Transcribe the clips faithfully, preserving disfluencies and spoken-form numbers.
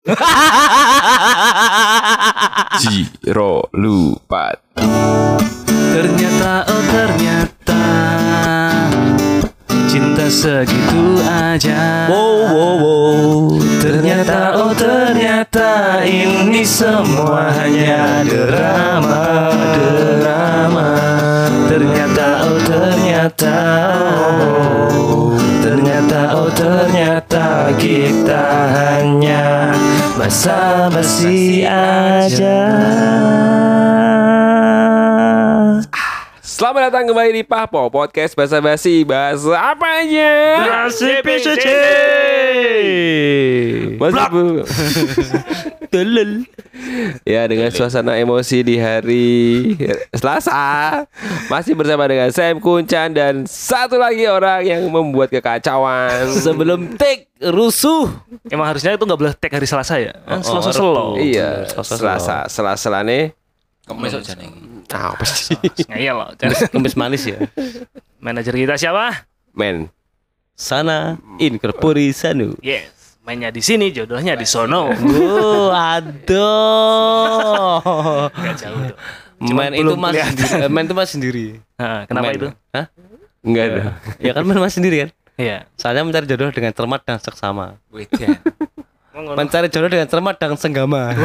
Jiro lupa. Ternyata, oh ternyata cinta segitu aja. Wow wow wow. Ternyata, oh ternyata ini semua hanya drama, drama. Ternyata, oh ternyata, oh, ternyata, oh ternyata kita hanya basa-basi aja. Selamat datang kembali di Pahpo Podcast Basa-basi. Bahasa apa aja? Basi P C C. Masih bu. Telel. Ya, dengan suasana emosi di hari Selasa, masih bersama dengan Sam Kuncan dan satu lagi orang yang membuat kekacauan. Sebelum take rusuh. Emang harusnya itu nggak boleh take hari Selasa ya? Oh, Selasa selo. Iya, Selasa, Selasa nih. Kemis aja nih. Ah, apa sih? Ngeyel loh. Kemis manis ya. Manajer kita siapa? Men. Sana in corpore sanu. Yes. Mainnya di sini, jodohnya di sono. Oh, aduh. Gak jauh tuh. Main itu mas sendiri. Main itu mas sendiri. Nah, kenapa main. itu? Hah? Enggak ada. Ya kan main mas sendiri kan? Iya. Soalnya mencari jodoh dengan cermat dan seksama. Wedan. Mencari jodoh dengan cermat dan senggama.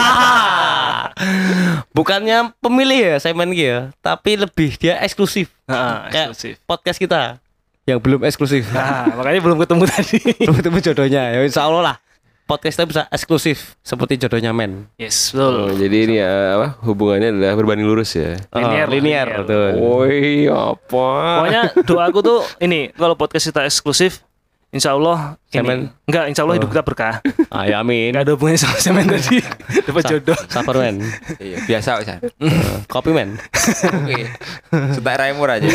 Bukannya pemilih ya saya main ya, tapi lebih dia eksklusif. Nah, Kayak eksklusif. podcast kita yang belum eksklusif. Nah, makanya belum ketemu tadi. Belum ketemu jodohnya. Ya insya Allah lah. Podcastnya bisa eksklusif seperti jodohnya men. Yes, betul. Oh, jadi ini ya, apa hubungannya adalah berbanding lurus ya. Linear, Oh, linear, linear. betul. Woi, apa? Pokoknya doaku tuh ini, kalau podcast kita eksklusif, insya Allah Semen. ini, enggak, insya Allah hidup kita berkah. Ah, ya amin. Enggak ada hubungannya sama semen tadi. Dapat Sa- jodoh. Sabar men. Iya, biasa San. Kopi men. Oke. Sudah raimur aja.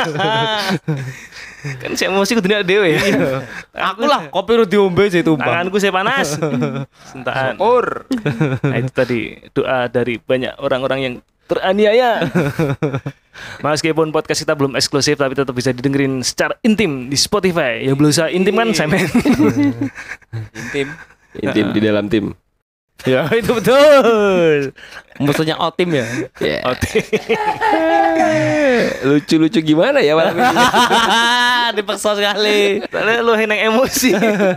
Kan saya emosi kudunya dewe ya. Aku lah kopi udah diombe sih tumpah. Tanganku saya panas. Sentaan. Or. Nah, itu tadi doa dari banyak orang-orang yang teraniaya. Meskipun podcast kita belum eksklusif, tapi tetap bisa didengerin secara intim di Spotify. Yang belum usah intim kan semen. Intim. Intim di dalam tim. Ya itu betul. Musuhnya Otim ya. Ya. Lucu-lucu gimana ya malam ini? Dipaksa sekali. Tadi lu heneng emosi.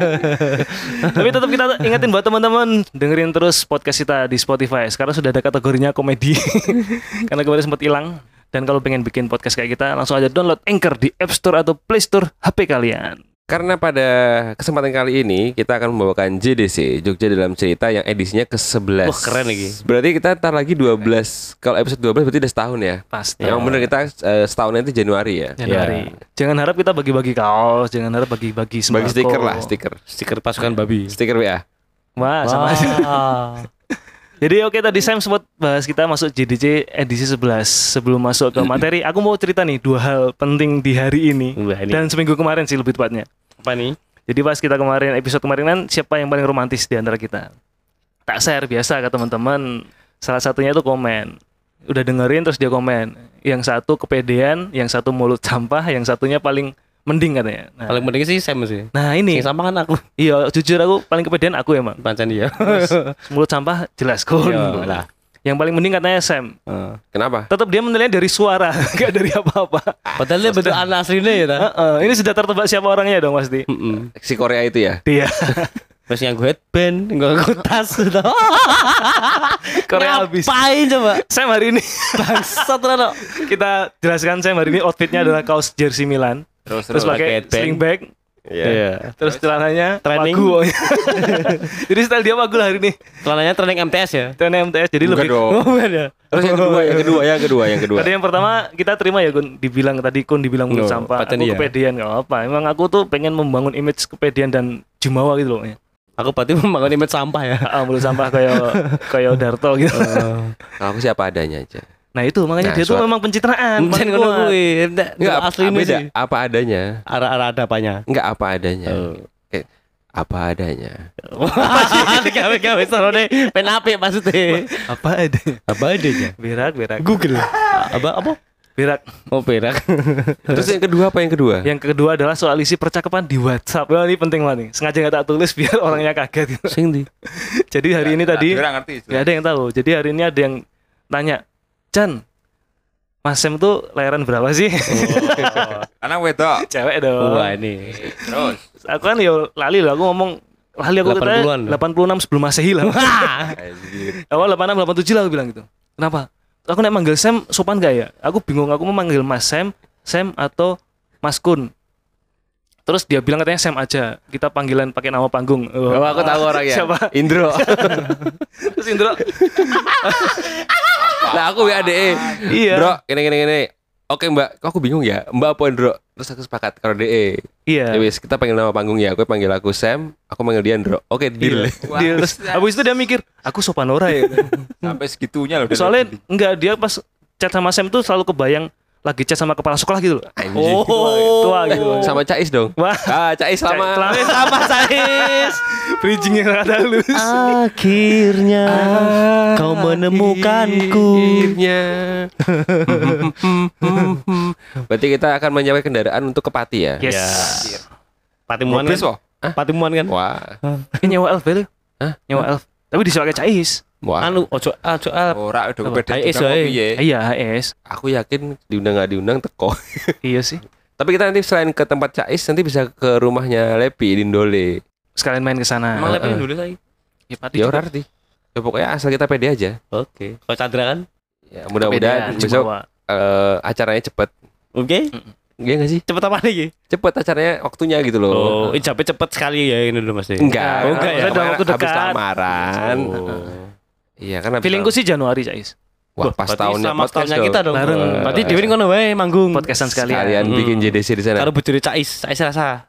Tapi tetap kita ingetin buat teman-teman, dengerin terus podcast kita di Spotify. Sekarang sudah ada kategorinya komedi. Karena kemarin sempat hilang. Dan kalau pengen bikin podcast kayak kita, langsung aja download Anchor di App Store atau Play Store H P kalian. Karena pada kesempatan kali ini kita akan membawakan J D C, Jogja Dalam Cerita, yang edisinya ke sebelas. Wah, keren lagi. Berarti kita ntar lagi dua belas. Kalau episode dua belas berarti udah setahun ya. Pasti. Yang bener kita uh, setahun itu Januari ya. Januari. Jangan harap kita bagi-bagi kaos, jangan harap bagi-bagi sembako. Bagi stiker lah, stiker. Stiker pasukan babi. Stiker W A. Wah, sama aja. Jadi oke, tadi Sam sempat bahas kita masuk J D C edisi sebelas. Sebelum masuk ke materi, aku mau cerita nih dua hal penting di hari ini. Wah, ini. Dan seminggu kemarin sih lebih tepatnya. Apa nih? Jadi pas kita kemarin, episode kemarin kan, siapa yang paling romantis di antara kita? Tak share biasa ke teman-teman. Salah satunya itu komen. Udah dengerin terus dia komen. Yang satu kepedean, yang satu mulut sampah, yang satunya paling mending katanya. Nah, Paling penting sih Sam sih. nah ini. Yang sama kan aku. Iya, jujur aku paling kepedean aku emang. Pancen dia. Mulut sampah jelas kun. Iya, lah. Yang paling mending katanya Sam. Heeh. Kenapa? Tetap dia menilainya dari suara, enggak dari apa-apa. Padahal dia betul anak aslinya ya ta. Heeh, ini sudah tertebak siapa orangnya dong pasti. Heeh. Si Korea itu ya? Dia. Terus yang gue headband, gue tas gitu. Korea habis. Ngapain coba? Sam hari ini Bangsat Rano. kita jelaskan Sam hari ini outfitnya adalah kaos jersey Milan. Terus Terus pakai pakai sling bag. Iya. Terus celananya Training. Wagu. Jadi style dia Wagu lah hari ini. Celananya training M T S ya. Training M T S jadi Bukan lebih. dong. Oh, bukan ya. Terus yang kedua, yang kedua, yang kedua, yang kedua. Tadi yang pertama kita terima ya Kun, dibilang tadi Kun dibilang mulut No, sampah. paten Aku iya. kepedean enggak apa. Emang aku tuh pengen membangun image kepedean dan jumawa gitu loh. Aku berarti membangun image sampah ya. Ah, mulut sampah kayak kayak Darto gitu. Kalau aku siapa adanya aja. Nah itu makanya Nah, dia tuh suara- memang pencitraan. Mungkin paling ngono kuat. kuwi. Enggak, Asli ini beda. sih. Apa adanya. Arah-arah ada apanya. Enggak apa adanya. Oh. Kayak apa adanya. Gawe-gawe sarone pen apik maksudnya. Apa ada? Apa adanya? Berak berak. Google. Apa apa? Berak. Oh, berak. Terus yang kedua apa yang kedua? Yang kedua adalah soal isi percakapan di WhatsApp. Wah, ini penting banget nih. Sengaja nggak tak tulis biar orangnya kaget gitu. Sing di. Jadi hari ini tadi Nggak ngerti. nggak ada yang tahu. Jadi hari ini ada yang tanya, Chan, Mas Sam tuh layaran berapa sih? Karena wedok. Cewek dong. Wah, ini. Terus. Aku kan ya lali lah. Aku ngomong lali aku delapan puluhan. katanya delapan puluh enam sebelum Masehi lah. Awal delapan puluh enam delapan puluh tujuh lah aku bilang gitu. Kenapa? Aku nek manggil Sam sopan gak ya? Aku bingung, aku mau manggil Mas Sam, Sam atau Mas Kun. Terus dia bilang katanya Sam aja. Kita panggilan pakai nama panggung. Oh, aku tahu orangnya. Siapa? Indro. Terus Indro. Nah, aku W A D E. Iya. Bro, gini gini gini. Oke, Mbak. Kok aku bingung ya? Mbak apa Indro? Terus aku sepakat kalau D E. Iya. Ya wis, kita panggil nama panggung ya. Aku panggil aku Sam, aku panggil dia Indro. Oke, deal. Dia terus habis itu dia mikir, aku sopan ora ya. Sampai segitunya loh. Soalnya enggak, dia pas chat sama Sam tuh selalu kebayang lagi chat sama kepala sekolah gitu loh. Anjing. Tua gitu loh. Sama Cais dong. Wah. Ah, Cais sama. Sama sama Sais. Bridging yang ada halus. Akhirnya kau menemukanku. Akhirnya. Berarti kita akan menyewa kendaraan untuk ke Pati ya? Yes. Ya. Patimuan Mobil, kan? Wah. Patimuan kan? Wah. Ini nyewa elf itu. Hah? Nyewa elf. Tapi disewa ke Cais. Wah. Anu ojo ojo alp. Ora udah Apa? beda H S juga wae. piye. Iya, H S. Aku yakin diundang nggak diundang teko. Iya sih. Tapi kita nanti selain ke tempat Cais nanti bisa ke rumahnya Lepi di Ndole. Sekalian main ke sana. Emang Heeh. lebih dulu lagi. Ya, Pati Ya juga. ora arti. Ya pokoknya asal kita pede aja. Oke. Kalau Chandra kan? Ya mudah-mudahan Beda, besok cuma eh, acaranya cepet. Oke. Iya nggak sih? Cepet apa lagi? Cepet acaranya waktunya gitu loh. Oh, ijabnya cepet sekali ya ini dulu Mas. Enggak, Oh, enggak ya. Kemarin Dalam waktu habis dekat. lamaran. Oh. Iya kan habis Feelingku sih Januari, Cais. Wah, pas Berarti tahunnya sama podcast tahunnya dong. kita dong. Bareng. Berarti Dewi ngono wae manggung. Podcastan sekalian. Kalian Hmm. bikin J D C di sana. Karo bojone Cais, Cais rasa.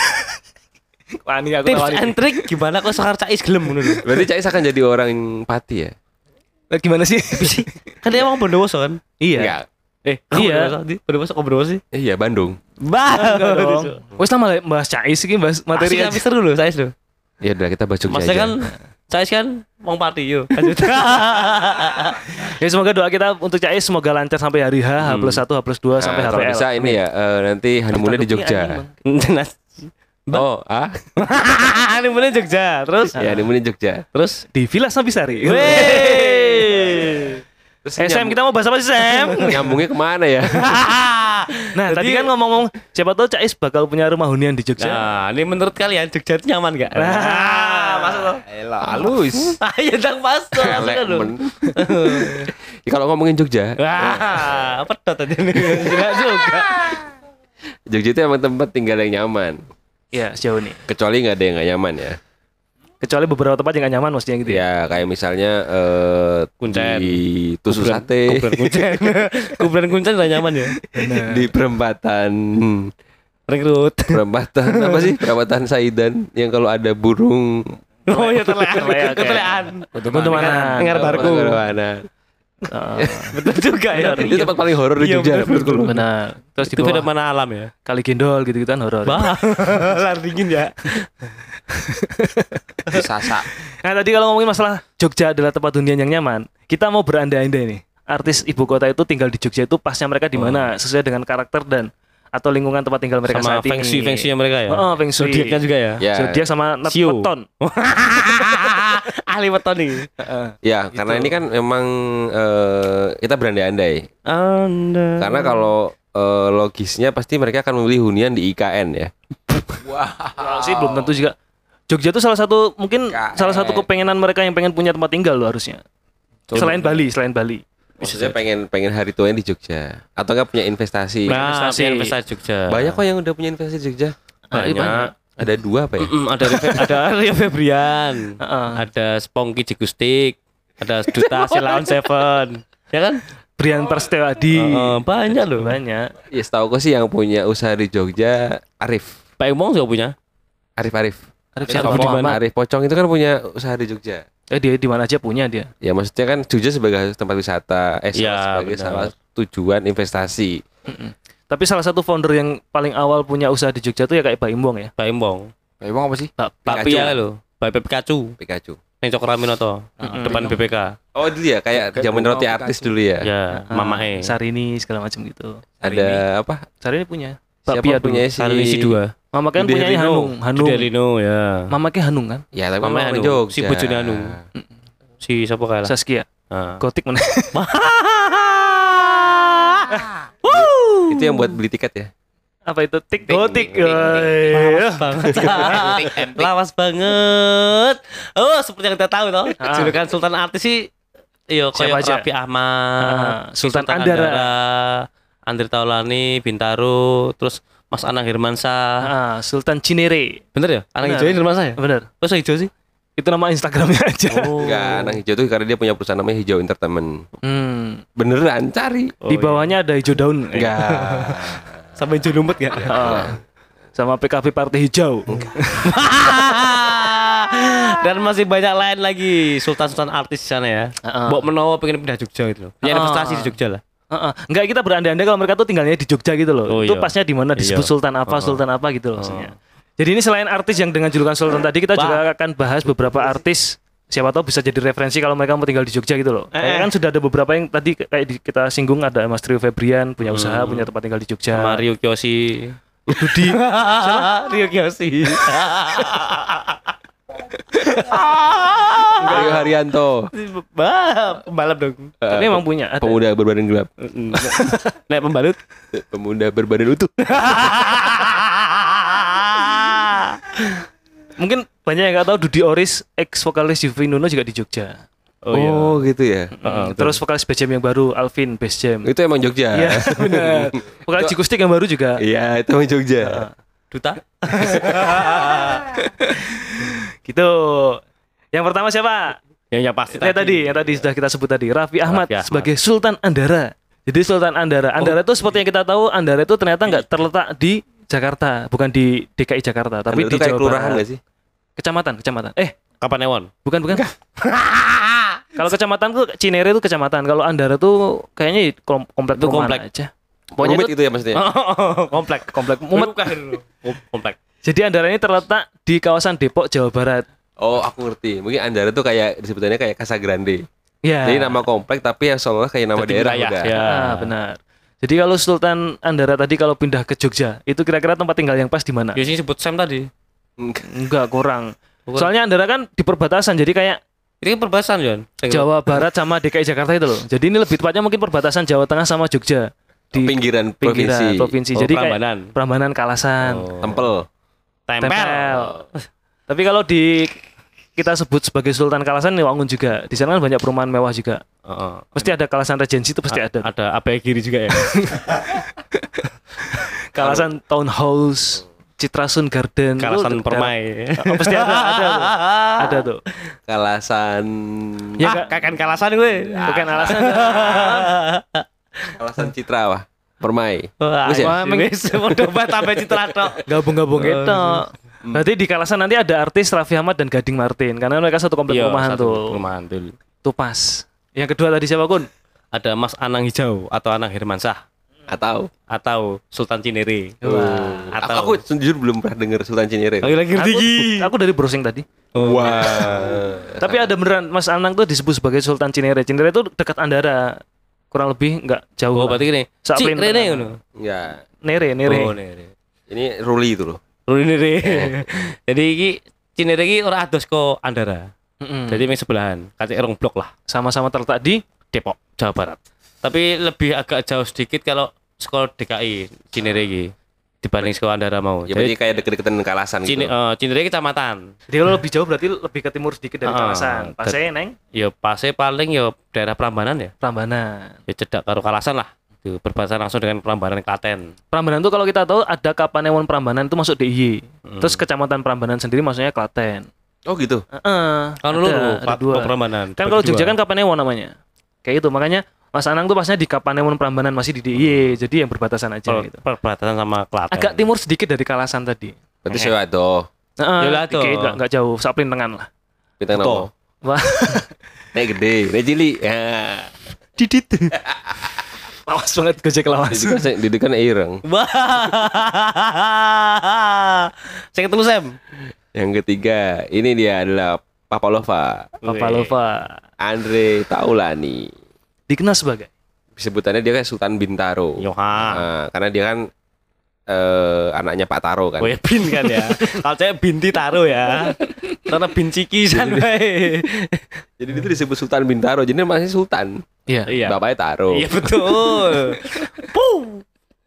Wani aku Tips tawani. and trick gimana kok sekar Cais gelem ngono lho. Berarti Cais akan jadi orang yang Pati ya? Lah, gimana sih? Kan dia emang Bondowoso kan? Iya. Enggak. Eh, Iya. Bondowoso kok Bondowoso sih? Iya, Bandung. Bah. Enggak dong. Wes lama bahas Cais iki, bahas materi Materi aja. tapi seru loh Cais loh. Ya udah kita bahas Jogja Maksudnya aja. kan Cais kan wong Pati yo. Lanjut. Ya semoga doa kita untuk Cais semoga lancar sampai hari H, H plus satu, H plus dua Nah, sampai kalau H P L. bisa ini ya eh, nanti honeymoonnya di Jogja. Jelas. Oh, ah? Ini bener Jogja. Terus Ya, honeymoon di Jogja. terus Di Villa Sabisari. Weh. Terus Eh Sam, kita mau bahas apa sih Sam? nyambungnya kemana ya? Nah tadi kan ngomong-ngomong siapa tahu Cais bakal punya rumah hunian di Jogja. Nah, ini menurut kalian Jogja itu nyaman gak? Nah, masuk loh. Elah, halus. Ayo dong masuk. Elek, Masuk loh. men. Ya, kalau ngomongin Jogja, Wah, pedot aja nih. Enggak juga. Jogja itu emang tempat tinggal yang nyaman. Iya sejauh ini. Kecuali nggak ada yang nggak nyaman ya. Kecuali beberapa tempat yang gak nyaman maksudnya gitu ya. Ya kayak misalnya eh Kuncen. di Tusuk Kuburan- Sate, Kuburan kuncen. Kuburan kuncen udah nyaman ya. di perempatan Rekrut. perempatan apa sih perempatan Saidan yang kalau ada burung Oh ya terlean. Terlean, Ketelean. Untuk mana? Dengar barku. mana Betul juga ya. itu tempat paling horor di Iya, Jogja betul, menurutku loh. Benar. Terus di Itu bawah fenomena alam ya. Kali Gendol gitu-gitu kan horor. Bah, lar dingin ya. Sasak. Nah tadi kalau ngomongin masalah Jogja adalah tempat hunian yang nyaman, kita mau berandai-andai nih. Artis ibu kota itu tinggal di Jogja itu pasnya mereka di mana sesuai dengan karakter dan atau lingkungan tempat tinggal mereka Sama saat feng shui ini. feng shui mereka ya. Oh, feng shui. Zodiaknya juga ya. Ya, Zodiak sama net Sio. weton. Ahli weton nih. ya karena ini kan memang eh, kita berandai-andai. Anda. Karena kalau eh, logisnya pasti mereka akan memilih hunian di I K N ya. Kalau sih belum tentu juga. Jogja itu salah satu mungkin K N. salah satu kepengenan mereka yang pengen punya tempat tinggal loh harusnya. Selain Bali, selain Bali. Maksudnya pengen pengen hari tuanya di Jogja atau enggak punya investasi. Nah, investasi. investasi investasi Jogja. Banyak kok yang udah punya investasi di Jogja. Banyak. Ada dua apa ya? Mm, ada Rive- ada Rio Febrian. Heeh. Ada Spongky Jigustik. Ada Duta Silaon Seven. Ya kan? Brian Perstewadi. Heeh, banyak loh. Banyak. Ya setahu sih yang punya usaha di Jogja Arif. Pak Umong juga punya. Arif Arif. Arif Siapa siapa? di mana? Arif Pocong itu kan punya usaha di Jogja. Eh dia di mana aja punya dia. Ya maksudnya kan Jogja sebagai tempat wisata, eh Iya, sebagai benar. salah tujuan investasi. Tapi salah satu founder yang paling awal punya usaha di Jogja tuh ya kayak Pak Imbong ya. Pak Umong. Emang apa sih? Pak Pak Pikachu. Pia loh. Pak Pikachu. Pikachu. Neng Cokraminoto, depan B P K. Oh dulu ya kayak zaman roti artis dulu ya. Ya, Ah, Mamae. Sarini segala macam gitu. Ada apa? Sarini punya. Siapa Bakpia punya dulu. si Sarini si dua. Mama kan Dude punya Herlino. Hanung, Hanung. Delino ya. Mama kan Hanung kan? Ya tapi Mama orang Hanung, Jogja. si bojone Hanung. Si siapa kalah? Saskia. Ah. Gotik mana? Itu yang buat beli tiket ya. Apa itu? Tik Tik, gotik. tik, tik, tik. Woi. banget. Empik, empik. Lawas banget. Oh, seperti yang kita tahu toh. Ah. Julukan Sultan Artis sih iya Siapa kayak aja? Raffi Ahmad, Ah, Sultan Andara. Andri Taulani, Bintaro, terus Mas Anang Hermansyah. Ah, Sultan Cinere. Bener ya? Anang Bener. hijau Hermansyah ya? Benar. Kok hijau sih? Itu nama Instagramnya aja. Oh. Enggak, Anang Hijau tuh karena dia punya perusahaan namanya Hijau Entertainment. Hmm. Beneran cari. Di bawahnya ada hijau daun. Enggak. Sampai hijau lumpet ya? Ah. Sama P K B Partai Hijau. Dan masih banyak lain lagi sultan-sultan artis di sana ya. Heeh. Mbok Menowo pengen pindah Jogja gitu loh. Punya Ah. investasi di Jogja lah. Heeh. Enggak, kita berandai-andai kalau mereka tuh tinggalnya di Jogja gitu loh. Oh, Itu iya. pasnya di mana disebut Iya. Sultan apa, Oh. Sultan apa gitu loh maksudnya. Jadi ini selain artis yang dengan julukan Sultan tadi, kita Bah. juga akan bahas beberapa artis siapa tahu bisa jadi referensi kalau mereka mau tinggal di Jogja gitu loh. Eh, Kayak eh. kan sudah ada beberapa yang tadi kayak di- kita singgung, ada Mas Trio Febrian punya usaha, Hmm. punya tempat tinggal di Jogja. Mario Kiyoshi. Budi. Rio Kiyoshi. Rio Haryanto. Bah, pembalap dong. Tapi emang punya. Ada. Pemuda berbadan gelap. Nek pembalut. Pemuda berbadan utuh. Mungkin banyak yang nggak tahu Dudi Oris, ex vokalis Yuvi Nuno juga di Jogja. Oh, iya. gitu ya. Hmm, Terus vokalis Bass Jam yang baru, Alvin Bass Jam. Itu emang Jogja. Iya, benar. Vokalis Jikustik yang baru juga. Iya, itu emang Jogja. Duta. Gitu. Yang pertama siapa? Yang yang pasti Yang tadi, yang tadi sudah kita sebut tadi, Raffi Ahmad, Raffi Ahmad. sebagai Sultan Andara. Jadi Sultan Andara. Andara itu seperti yang kita tahu, Andara itu ternyata nggak terletak di Jakarta, bukan di D K I Jakarta, tapi itu di kayak Jawa kelurahan Barat. nggak sih? Kecamatan, kecamatan. Eh, Kapanewon. bukan, bukan. Kalau kecamatan tuh Cinere itu kecamatan. Kalau Andara tuh kayaknya kom- komplek Itu perumahan komplek. aja. Pokoknya Rumit itu itu ya maksudnya. Komplek. komplek Mumet. Komplek. Jadi Andara ini terletak di kawasan Depok, Jawa Barat. Oh, aku ngerti. Mungkin Andara tuh kayak disebutannya kayak Casagrande. Ya. Jadi nama komplek tapi yang seolah kayak nama Jadi daerah wilayah, udah. ya. Ah, benar. Jadi kalau Sultan Andara tadi kalau pindah ke Jogja, itu kira-kira tempat tinggal yang pas di mana? Ya sih sebut Sam tadi. Enggak. Enggak, kurang. Bukan. Soalnya Andara kan di perbatasan, jadi kayak Ini kan perbatasan, Jon. Jawa Barat sama D K I Jakarta itu loh. Jadi ini lebih tepatnya mungkin perbatasan Jawa Tengah sama Jogja. Di Pinggiran pinggiran provinsi. provinsi. Oh, Jadi kayak Prambanan. Prambanan, Kalasan, Oh. Tempel. Tempel. Tempel. Tapi kalau di kita sebut sebagai Sultan Kalasan ini Wangun juga. Di sana kan banyak perumahan mewah juga. Heeh. Pasti ada Kalasan Regency itu pasti A- ada. Ada apa kiri juga ya? Kalasan Townhouse, Citrasun Garden, itu Kalasan ada- Permai. Oh, pasti ada, ada tuh. Ada tuh. Kalasan. Ya Ah, enggak, kakan Kalasan gue. bukan alasan. Kalasan Citra wah. Permai. Wah, Wis ya? wah, wis udah bat tambah citra tok. Gabung-gabung itu. Berarti di Kalasan nanti ada artis Raffi Ahmad dan Gading Martin karena mereka satu komplek Iya, perumahan satu tuh. Perumahan tuh. Tuh pas. Yang kedua tadi siapa Kun? Ada Mas Anang Hijau atau Anang Hermansyah Atau atau Sultan Cinere. Wah. Atau aku, aku jujur belum pernah dengar Sultan Cinere. lagi lagi Aku, aku dari browsing tadi. Wah. Tapi ada beneran Mas Anang tuh disebut sebagai Sultan Cinere. Cinere itu dekat Andara. Kurang lebih enggak jauh. Oh, lah. berarti gini. Sak Cik plin Rene tengah. ngono. Ya. Nere, Nere. Oh, Nere. Ini Ruli itu loh. Rene Nere. Jadi iki Cinere iki ora ados ko Andara. Mm-mm. Jadi ming sebelahan, kacek rong blok lah, sama-sama terletak di Depok, Jawa Barat. Tapi lebih agak jauh sedikit kalau sekolah D K I Cinere iki dibanding sekolah Andara mau. Ya berarti kayak deket-deketan dengan Kalasan Cine, gitu. eh, Cinere kecamatan. Jadi kalau lebih jauh berarti lebih ke timur sedikit dari Ah, Kalasan. Pasnya neng Ya pase paling ya daerah Prambanan ya. Prambanan. Ya cedak karo Kalasan lah. Itu berbatasan langsung dengan Prambanan Klaten. Prambanan tuh kalau kita tahu ada Kapanewon Prambanan itu masuk D I Y. Hmm. Terus kecamatan Prambanan sendiri maksudnya Klaten. Oh gitu. Heeh. Kan ada, lu ada dua. Prambanan. Kan kalau Jogja kan Kapanewon namanya. Kayak itu makanya Mas Anang tuh pasnya di Kapanewon Prambanan masih di D I Y. Jadi yang berbatasan aja per, gitu. perbatasan sama Klaten. Agak timur sedikit dari Kalasan tadi. Berarti saya tuh. Heeh. Yolah tuh. dikit, nggak nggak jauh, saplin tengan lah. Bintang Betul. nopo. Wah, Nek gede, nek cilik. Ya. didit. Lawas banget Gojek lawas. Itu kan di kan ireng. Wah. Saya ketemu Sam. Yang ketiga, ini dia adalah Papalova, Papalova. Andre Taulani. Dikenal sebagai Sebutannya dia kan Sultan Bintaro. Yoha. Nah, karena dia kan eh, anaknya Pak Taro kan. Oh ya bin kan ya. Kalau saya binti Taro ya. Karena bin cikisan bae. Jadi itu disebut Sultan Bintaro. Jadi masih Sultan. Iya. Iya. Bapaknya Taro. Iya betul. Puh.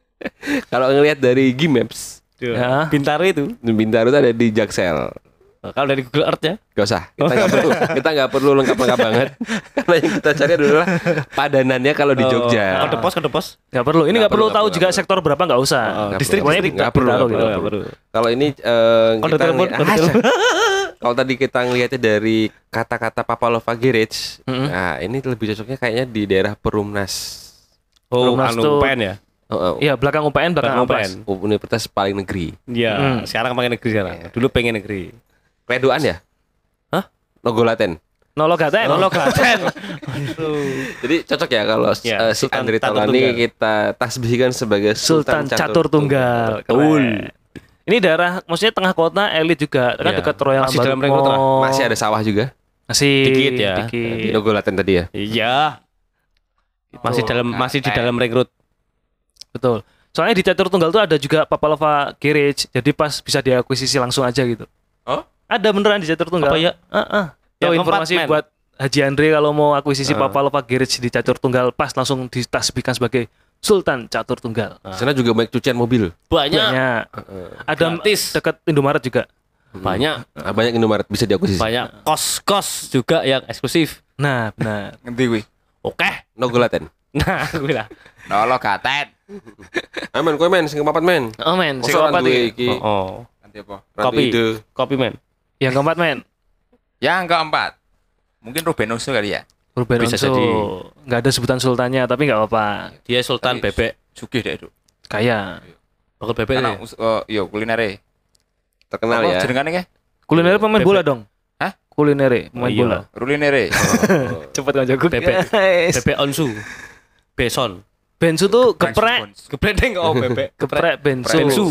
Kalau ngelihat dari Gmaps, Ya. Bintaro itu. Bintaro itu ada di Jaksel. Kalau dari Google Earth ya. Gak usah. Kita nggak perlu. Kita nggak perlu lengkap-lengkap banget. Karena yang kita cari adalah padanannya kalau di Jogja. Kode pos, kode pos. Nggak perlu. Ini Nggak nggak perlu perlu, tahu nggak juga perlu. sektor berapa nggak usah. Nggak Distrik perlu. pokoknya Nggak Bintaro perlu, gitu. nggak Nggak perlu. Kalau ini eh, Kode kita telepon, ngeli- kode Ah, telepon. kalau tadi kita ngelihatnya dari kata-kata Papalova Garage, Mm-mm. nah ini lebih cocoknya kayaknya di daerah Perumnas. Oh, Perumnas anu tuh- pen ya. Oh, oh, Iya, belakang U P N, belakang Belakang Amplas. U P N. Universitas paling negeri. Iya, Hmm. sekarang pengen negeri sekarang. Dulu pengen negeri. Redoan ya? Hah? Nogolaten. Nolo Gaten. Nolo Klaten. Jadi cocok ya kalau Ya, eh, si Sultan Andre Catur Taulani Tunggal. kita tasbihkan sebagai Sultan Catur Tunggal. Keren. Ini daerah maksudnya tengah kota, elit juga. Kan Iya. dekat Royal Masih dalam Ambarukmo. ring road lah. Masih ada sawah juga. Masih Dikit ya. Di Dikit. Nogolaten tadi ya. Iya. Masih dalam masih di dalam ring road. Betul. Soalnya di Catur Tunggal tuh ada juga Papalova Garage. Jadi pas bisa diakuisisi langsung aja gitu. Oh? Ada beneran di Catur Tunggal. Apa ya? Heeh. Tuh Yang informasi keempat, men. buat Haji Andre kalau mau akuisisi Ah. Papalova Garage di Catur Tunggal pas langsung ditasbihkan sebagai Sultan Catur Tunggal. Di sana juga banyak cucian mobil. Banyak. Banyak. Ada Gratis. dekat Indomaret juga. Banyak. Ah, banyak Indomaret bisa diakuisisi. Banyak kos-kos juga yang eksklusif. Nah, benar. Ngendi kuwi? Oke. Nogolaten. Nah, gue lah. Nolo gaten. Ayo men, kowe men sing keempat men. Oh men, Masa sing orang keempat duwe iki. iki. Oh, oh. Nanti apa? Ratu Kopi. ide. Kopi men. Yang keempat men. Yang keempat. Mungkin Ruben Onsu kali ya. Ruben Bisa Onsu. jadi. Nggak ada sebutan sultannya, tapi nggak apa-apa. Dia Sultan Tapi Bebek. Sugih deh, Duk. Kaya. Bakal bebek Karena ya. us- oh, iya kulinere. Terkenal Apa ya. jenengane ke? Kuliner pemain Bebek. bola dong. Hah? Kuliner pemain Oh, iya. bola. Rulinere. Cepet kan jago. Bebek. Guys. Bebek Onsu. Beson. Bensu tuh geprek, Geprek deng oh bebek. geprek bensu. Bensu.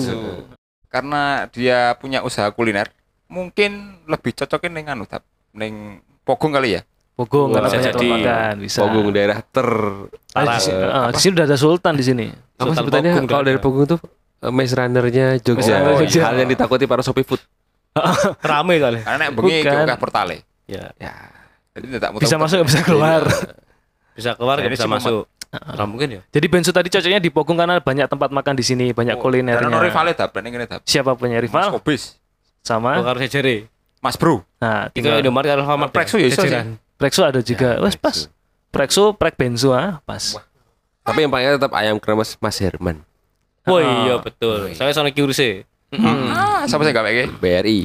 Karena dia punya usaha kuliner, mungkin lebih cocokin ning anu tap ning Pogong kali ya. Pogong karena Bisa banyak jadi. tempat makan, bisa. Pogong daerah ter Ah, di sini, ah, di sini udah ada sultan di sini. apa Sultan sebutannya Pogong kalau udah dari ada. Pogong tuh eh, maze runner-nya Jogja. Runner Jogja. Hal yang ditakuti para Shopee Food. Rame kali. Karena nek bengi Bukan. ke portale. Ya. Ya. Jadi tidak Bisa masuk nggak bisa keluar. Bisa keluar Nah, nggak ini bisa sih masuk. Nah, mungkin ya. Jadi bensu tadi cocoknya di Pogong karena banyak tempat makan di sini, banyak Karena kulinernya. rivale tap, ning ngene tap. Siapa punya Mas rival? Kobis, Sama. Kalau sejere. Mas Bro. Nah, Itu tinggal Indomaret kalau Alfamart. Prexo ya iso sih. Jajaran. Prexo ada juga. Wes pas. Prexo, prek bensu ah, pas. Tapi yang paling tetap ayam kremes Mas Herman. Oh Ah. iya betul. Saya soalnya kiurse. Ah, siapa sih gak iki? B R I.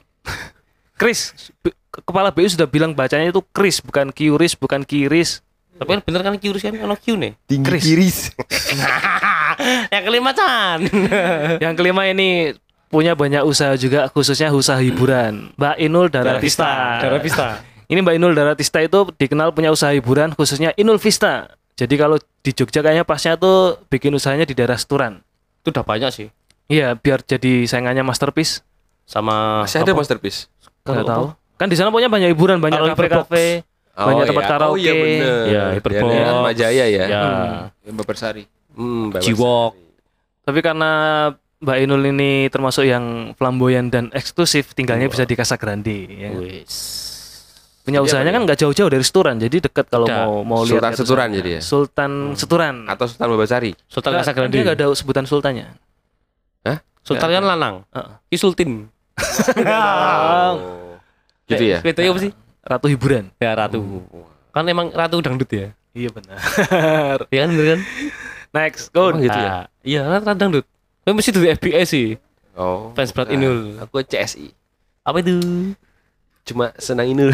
Chris, B- kepala B U sudah bilang bacanya itu Chris, bukan Kiuris, bukan Kiris. Tapi kan bener kan kiurus kan ono Q nih. Tinggi Chris. kiris. Yang kelima Chan. Yang kelima ini punya banyak usaha juga, khususnya usaha hiburan. Mbak Inul Daratista. Daratista. Ini Mbak Inul Daratista itu dikenal punya usaha hiburan, khususnya Inul Vista. Jadi kalau di Jogja kayaknya pasnya tuh bikin usahanya di daerah Seturan. Itu udah banyak sih. Iya, biar jadi saingannya Masterpiece. Sama Masih ada apa? Masterpiece. Nggak Kalau tahu. Kan di sana punya banyak hiburan, banyak Kalau kafe-kafe. Banyak tempat Oh iya karaoke. bener. Ya, Di Hyperbox. daerah Atma Jaya ya. Ya. Mbak Bersari. Hmm, Mbak Jiwok. Tapi karena Mbak Inul ini termasuk yang flamboyan dan eksklusif, tinggalnya bisa di Casa Grande. Ya. Wis. Punya Jadi usahanya apa kan nggak jauh-jauh dari Seturan, jadi dekat kalau Udah. mau mau Sultan lihat Seturan usahanya. jadi ya? Sultan Seturan. Atau Sultan Babasari. Sultan Nggak, Casa Grande. Dia nggak ada sebutan sultannya. Sultan kan lanang. Heeh. Ki Sultin. Oh. Gitu ya. Itu apa sih? Ratu hiburan. Ya ratu. Kan emang ratu dangdut ya. Iya benar. Iya kan bener kan? Next, go. Emang gitu ya? Nah, iya ratu dangdut. Tapi mesti dari F B S sih. Oh. Fans berat Nah, Inul. Aku C S I. Apa itu? Cuma senang Inul.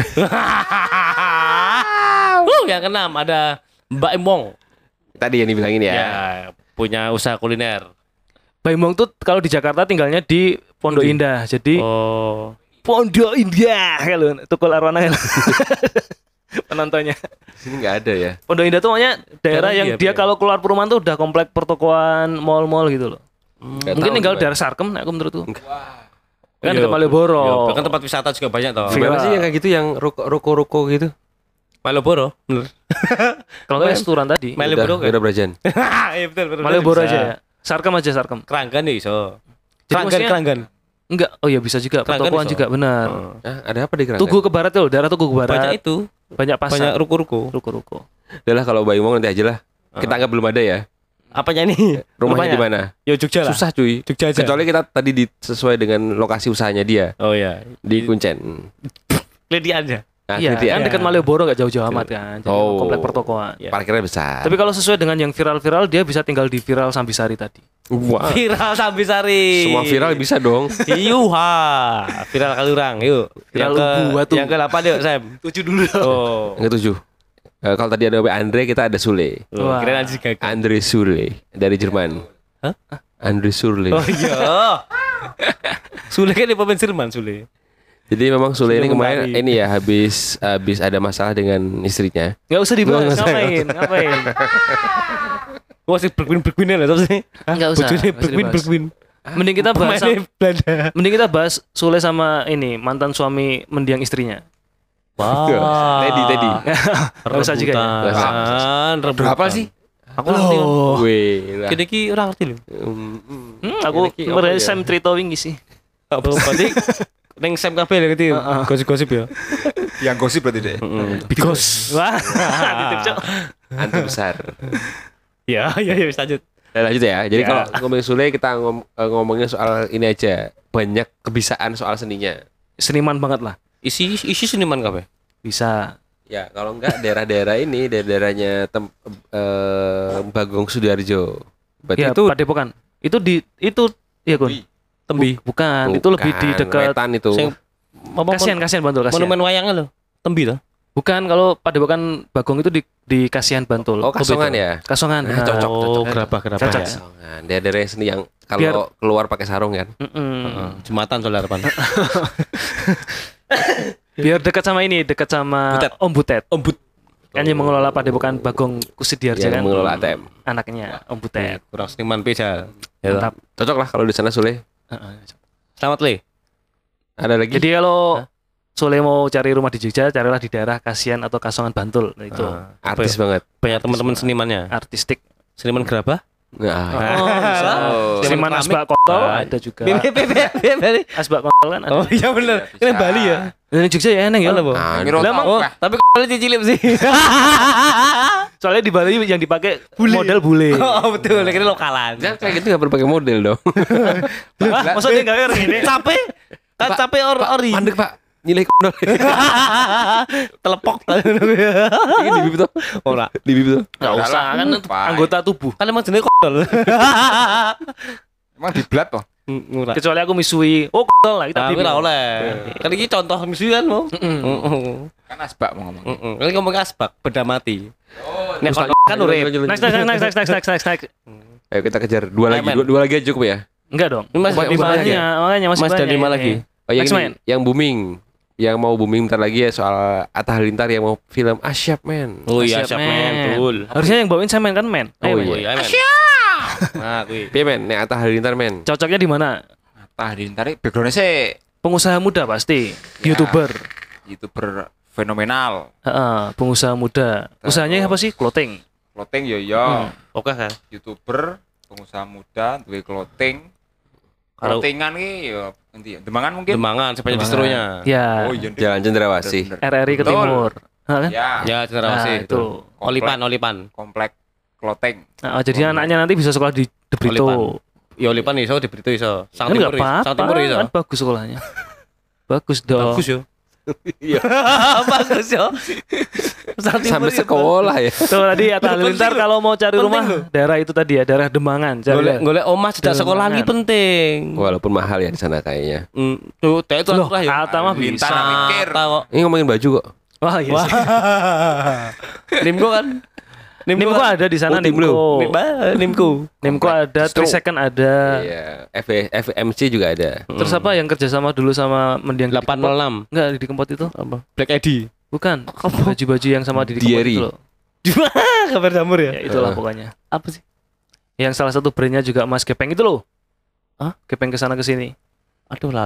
uh, yang keenam ada Mbak Emong. Tadi yang dibilangin ya. Ya, punya usaha kuliner. Baimong tuh kalau di Jakarta tinggalnya di Pondok Indah. Jadi Oh. Pondok Indah kalau tukul arwana kalau penontonnya. Di sini nggak ada ya. Pondok Indah tuh makanya daerah Daerah yang iya, dia iya. kalau keluar perumahan tuh udah komplek pertokoan, mall-mall gitu loh. Nggak Mungkin tahu tinggal gimana. daerah Sarkem, aku menurutku. Kan Iya. dekat Malioboro. Iya, kan tempat wisata juga banyak toh. Gimana sih yang kayak gitu yang ruko- ruko-ruko gitu? Malioboro, bener. Kalau nggak restoran tadi. Malioboro Udah, kan? udah Brajan. Iya betul betul. Malioboro bisa. aja ya. Sarkem aja Sarkem. Keranggan ya iso. Jadi Keranggan maksudnya- keranggan. Enggak, oh ya bisa juga. Keranggan Pertokoan iso. juga benar. Oh. Ah, ada apa di Keranggan? Tugu ke barat tuh, daerah Tugu ke barat. Banyak itu. Banyak pasar. Banyak ruko-ruko. ruko-ruko. Udah lah kalau Bayu mau nanti aja lah. Kita anggap belum ada ya. Apanya nih? Rumahnya di mana? Ya Jogja lah. Susah cuy. Jogja aja. Kecuali kita tadi di, sesuai dengan lokasi usahanya dia Oh iya. di Kuncen. Lady aja. Nah, Iya, gitu ya. kan dekat Malioboro nggak jauh-jauh amat kan. Jadi Oh. komplek pertokoan. Iya. Parkirnya besar. Tapi kalau sesuai dengan yang viral-viral, dia bisa tinggal di viral Sambisari tadi. Wah, Viral Sambisari. semua viral bisa dong. Iyuha. Viral Kalurang, yuk. Viral yang ke Ubu, Watu. yang ke delapan yuk, Sam. Tujuh dulu. Oh. Yang ketujuh. Eh, kalau tadi ada Andre, kita ada Sule. Wah. Kira nanti gagal. Andre Sule dari Jerman. Hah? Andre Sule. Oh iya. Sule kan di pemain Jerman, Sule. Jadi memang Sule ini Sudah kemarin memari. ini ya habis habis ada masalah dengan istrinya. Nggak usah dibahas, Nggak usah, ngapain, ngapain. Wah, si berkwin-berkwin lah terus sih. Nggak usah, Bojone nggak usah dibahas. berkwin-berkwin. Mending kita bahas, Pemainnya Belanda. mending kita bahas Sule sama ini mantan suami mendiang istrinya. Wah. Teddy, Teddy. Nggak usah juga ya. Rebutan, rebutan. Berapa sih? Aku ngerti. kan. Oh. Wih, lah. Kini ki orang ngerti lho. Hmm, hmm. Hmm, aku Ini ki apa merasa ya? Sam cerita wingi sih. Oh, berarti neng Sam kabeh lho ngerti. Gosip-gosip ya. Yang gosip berarti deh. Because. Wah, titip Cok. Antu besar. Ya, ya, ya, lanjut. Nah, lanjut ya. Jadi Ya. kalau ngomongin Sule kita ngom- eh, ngomongin soal ini aja. Banyak kebisaan soal seninya. Seniman banget lah. Isi isi seniman kabeh. Bisa. Ya, kalau enggak daerah-daerah ini, daerah-daerahnya tem, eh, Bagong Sudarjo. Berarti Ya, itu Padepokan. Itu di itu ya Gun. Tembi. Bukan, itu lebih di bukan, dekat Wetan itu. Sing apa Kasihan, kasihan Bantul, kasihan. monumen wayangnya lho. Tembi to. Bukan, kalau Padepokan Bagong itu di di Kasihan Bantul. Oh, Kasongan ya? Kasongan. Nah, benar. cocok, cocok. Oh, gerabah-gerabah Cocok. ya. Kasongan. Daerah-daerah seni yang kalau Biar- keluar pakai sarung kan. Mm-mm. Heeh, Jumatan soalnya harapan. Biar dekat sama ini, dekat sama Butet. Om Butet. Om But. Kan yang mengelola Padepokan Bagong Kusidiarja Yang kan. mengelola A T M. Anaknya Om Butet. Kurang seniman pejal. Ya. Mantap. Cocok lah kalau di sana Sule. Heeh. Selamat Le. Ada lagi? Jadi kalau Sule mau cari rumah di Jogja, carilah di daerah Kasihan atau Kasongan Bantul. Nah, itu Ah, artis apa ya? banget. Banyak teman-teman senimannya. artistik. Seniman gerabah. Nah, Oh, bisa. Oh. Seniman Keramik. Asbak Kontol Ah. ada juga. Bali. Asbak Kontol kan ada. Oh iya bener. Ini Bisa. Bali ya. Dan di Jogja ya eneng ya. Mana, Bu? Ah, Miro Lah, tau, emang- Oh, Pak. tapi kalau cicilip sih. Soalnya di Bali yang dipakai model bule. Oh, betul. Ini lokalan. jangan kayak gitu nggak perlu pakai model dong. Wah, maksudnya enggak kayak ini. Capek. Kan capek or ori. Mandek pak, nilai kondol. Telepok. Ini di bibir tuh, Ora. di bibir tuh. Enggak usah kan itu Pak. anggota tubuh. Kan emang jenis kodol. Emang di blat toh? Ora. Kecuali aku misui. Oh, kontol lah kita Tapi bibir. ora oleh. Kan iki contoh misi kan mau. Heeh. Kan asbak mau ngomong. Heeh. Kan ngomong asbak beda mati. Oh, Nek Terus kodol kan lanjut, urip. lanjut, lanjut. Next, next, next, next, next, next, next, next. Ayo kita kejar dua lagi, Lemen. dua, dua lagi aja cukup ya. Enggak dong. Ini masih Masih lima banyak lagi. ya? Makanya, makanya masih Mas ada banyak. lima lagi. Oh yang Next, ini, man. yang booming, yang mau booming bentar lagi ya soal Atta Halilintar yang mau film Asyap men. Oh iya, Siap, siap men, betul. Harusnya yang bawain Semen kan men. Oh, Ayo, iya. men. Oh iya, men. Nah, kuwi. Piye men, nek Atta Halilintar men. Cocoknya di mana? Tah ditarik backgroundnya sih Pengusaha muda pasti. Ya. YouTuber. YouTuber fenomenal. Heeh, pengusaha muda. Usahanya apa sih? Clothing. Clothing yo yo. Hmm. Oke kan? YouTuber, pengusaha muda, duwe clothing. Kalau- Clothingan ki yo endi ya? Demangan mungkin? Demangan sebanyak distro-nya. Ya. Oh iya. Ndek. Jalan Cendrawasih. Bener, R R I ke Betul. timur. Hah, kan? Ya, Ya, Nah, Cendrawasih itu. Olipan, Olipan. komplek clothing. Nah, jadi anaknya nanti bisa sekolah di De Brito. Olipan. Ya Olipan iso di Brito iso. Sang Kan Timur enggak iso. apa-apa. Sang Timur iso. Kan bagus sekolahnya. Bagus dong. Bagus yo. Iya. Bagus yo. Sang Timur Sampai iso. sekolah ya. Tuh tadi Atta Halilintar kalau mau cari Penting rumah loh. daerah itu tadi ya, daerah Demangan. Cari Golek lah. golek omah cedak sekolah Demangan. lagi penting. Walaupun mahal ya di sana kayaknya. Hmm, tuh, teh itu Loh, lah ya. Atta mah Halilintar bisa. mikir. Tahu. Ini ngomongin baju kok. Wah, iya Wah. sih. Nimko kan? Nimco ada di sana Oh, Tim Blue. Nimco. Nimba, Nimko. Nimco ada, Distro. three second ada. Iya, F F M C juga ada. Terus apa yang kerjasama dulu sama mendiang Didi delapan Kempot? nol enam. Enggak, Didi Kempot itu. Apa? Black Eddie. Bukan. Baju-baju yang sama Didi Kempot Diary. itu loh. Kabar damur Ya, ya? itulah Heeh. pokoknya. Apa sih? Yang salah satu brandnya juga Mas Gepeng itu loh. Hah? Gepeng kesana kesini. Aduh lali aku.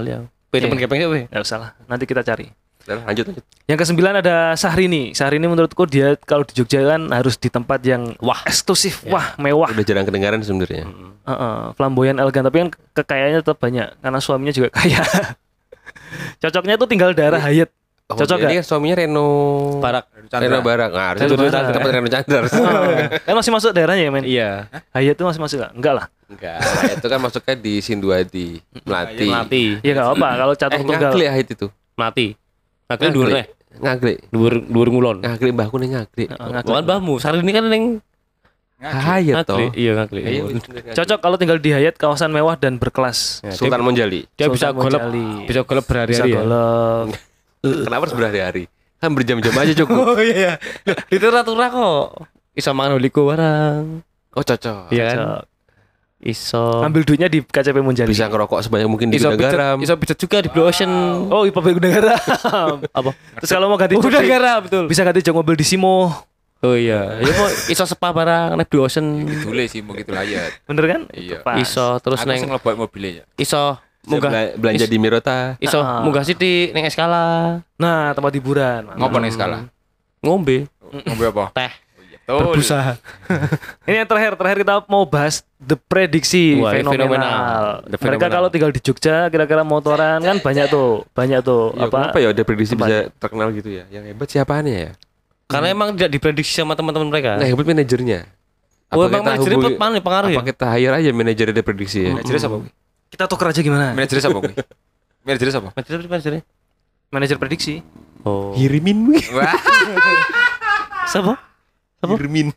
Beda temen gepeng we. Enggak usah lah, nanti kita cari. Udah, lanjut lanjut. Yang kesembilan ada Syahrini. Syahrini menurutku dia kalau di Jogja kan harus di tempat yang Wah. eksklusif, wah, mewah. Udah jarang kedengaran sebenarnya. Heeh, flamboyan elegan, tapi kan kekayaannya tetap banyak karena suaminya juga kaya. Cocoknya tuh tinggal daerah Hayat. Oh, Cocok ini gak? kan suaminya Reno Barak. Reno Barak. Nah, harusnya Reno itu Barak. tempat Reno Chandra. Kan masih masuk daerahnya ya men? Iya. Hayat tuh masih masuk gak? Enggak lah. Enggak, itu kan masuknya di Sinduadi, Melati. Melati. Ya gak apa kalau Eh, catur tunggal. ngagli Ahit itu. Melati. Ngagli dhuwur teh. Ngagli. Dhuwur dhuwur ngulon. Ngagli mbahku ning ngagli. Heeh, ngagli. Bukan mbahmu, Syahrini kan ning Hayat toh. ngagli. Iya ngagli. Ayo, Cocok kalau tinggal di Hayat, kawasan mewah dan berkelas. Ya, Sultan Monjali. Dia bisa Sultan golep, Monjali. bisa golep Bisa berhari-hari ya. golep. Kenapa harus berhari-hari? Kan berjam-jam aja cukup. Oh iya. Itu ratu-ratu kok. Iso mangan holiko barang. Oh cocok. Iya kan? Cocok. Iso. Ambil duitnya di K C P Monjali. Bisa ngerokok sebanyak mungkin di iso Gudang Garam. Iso bisa juga di Blue Ocean. Oh, I P B Gudang Garam. Apa? Terus kalau mau ganti Udah jok di- garam betul. bisa ganti jok mobil di Simo. Oh iya. Ya mau iso spa barang nek Blue Ocean. Dule sih mau gitu Hayat. Bener kan? Iya. Pas. Iso terus Aku sing neng ngelebok mobilnya ya. iso munggah Bela- belanja is- di Mirota. iso Ah. munggah sithik ning Eskala. Nah, tempat hiburan. Ngopo nih skala? Ngombe Ngombe apa? teh. Betul. Berbusa. Ini yang terakhir, terakhir kita mau bahas The Prediksi Wah, ini fenomenal. fenomenal. The Mereka fenomenal. kalau tinggal di Jogja, kira-kira motoran kan banyak tuh, banyak tuh. Ya, apa? kenapa ya udah prediksi tempat. bisa terkenal gitu ya? Yang hebat siapaannya ya? Karena emang tidak diprediksi sama teman-teman mereka. Nah, hebat manajernya. Oh, Apa emang kita manajernya hubungi- mana pengaruh ya? Apa kita hire aja manajernya dia prediksi ya? Manajernya siapa? kuwi? Kita tuker aja gimana? Manajernya siapa? kuwi? Manajernya siapa? Manajernya manajernya. Manajer prediksi. Oh. Hirimin wih. Wah, Siapa? Apa? Hirmin.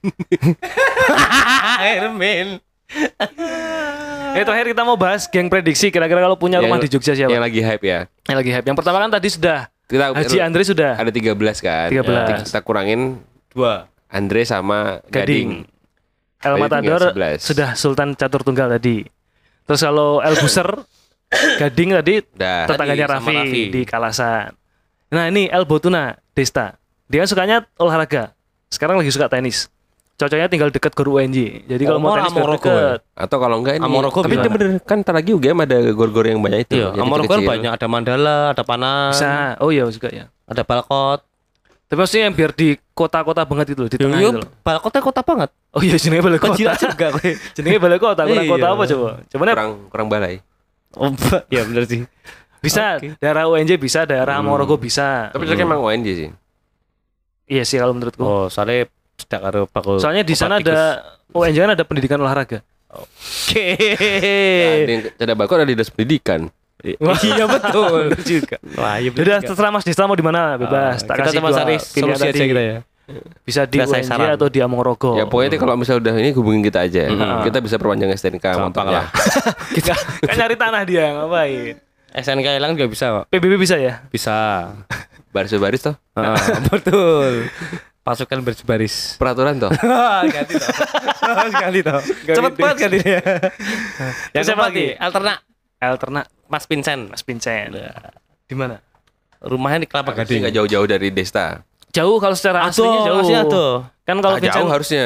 Hermin. Eh terakhir kita mau bahas geng prediksi. Kira-kira kalau punya rumah Yang- di Jogja siapa? Yang lagi hype ya. Yang lagi hype. Yang pertama kan tadi sudah. Kita Haji Andre sudah. ada tiga belas kan. tiga belas. Kita kurangin Dua. Andre sama Gading. Gading. El Berarti Matador tinggal sebelas. sudah Sultan Catur Tunggal tadi. Terus kalau El Buser, Gading tadi Udah. tetangganya Tadi sama Raffi, Raffi. di Kalasan. Nah ini El Botuna Desta. Dia kan sukanya olahraga. Sekarang lagi suka tenis. Cocoknya tinggal deket Gor U N J. Jadi kalau mau Oh, tenis biar Amorogo deket. Atau kalau enggak ini. Amorogo Tapi bisa. bener, bener kan ntar lagi U G M ada gor-gor yang banyak itu. Iya, yang Amorogo kan kecil-kecil. banyak, ada Mandala, ada Panas, Bisa. Oh iya juga ya. ada Balkot. Tapi maksudnya yang biar di kota-kota banget itu loh, di tengah Yo, itu loh. Balkotnya kota banget. Oh iya jenenge balai kota. Kecil juga kowe. Jenenge balai kota, kurang Iya. kota apa coba? Cuman ya kurang kurang balai. Oh, ya bener sih. bisa Oke. daerah U N J bisa, daerah Amorogo bisa. Tapi cocoknya emang O N J sih. Iya sih kalau menurutku. Oh, soalnya tidak karo bakul. Soalnya di sana ada U N J kan ada pendidikan olahraga. Oke. Ada yang ada bakal ada dinas pendidikan. Iya betul. juga. Wah, iya bener Udah juga. terserah Mas Desta mau di mana bebas. Tak kita kasih cuma dua cari pilihan solusi aja tadi. kita ya. Bisa di Kita U saya N J saran. atau di Amorogo. Ya pokoknya itu kalau misalnya udah ini hubungin kita aja. Mm. Kita bisa perpanjang S T N K Gampang motornya. lah. Kita kan nyari tanah dia ngapain? S N K hilang juga bisa kok. P B B bisa ya? Bisa. Baris-baris toh. Heeh, betul. Pasukan berbaris. Peraturan toh. Ganti toh. Sekali toh. Cepet banget ganti dia. Yang Siapa siapa lagi? lagi? Alterna Alterna Mas Vincent. Mas Vincent. Di mana? Rumahnya di Kelapa Jadi Gading. nggak jauh-jauh dari Desta. Jauh kalau secara aslinya jauh. Masih aduh. Kan kalau Ah, Vincent jauh harusnya.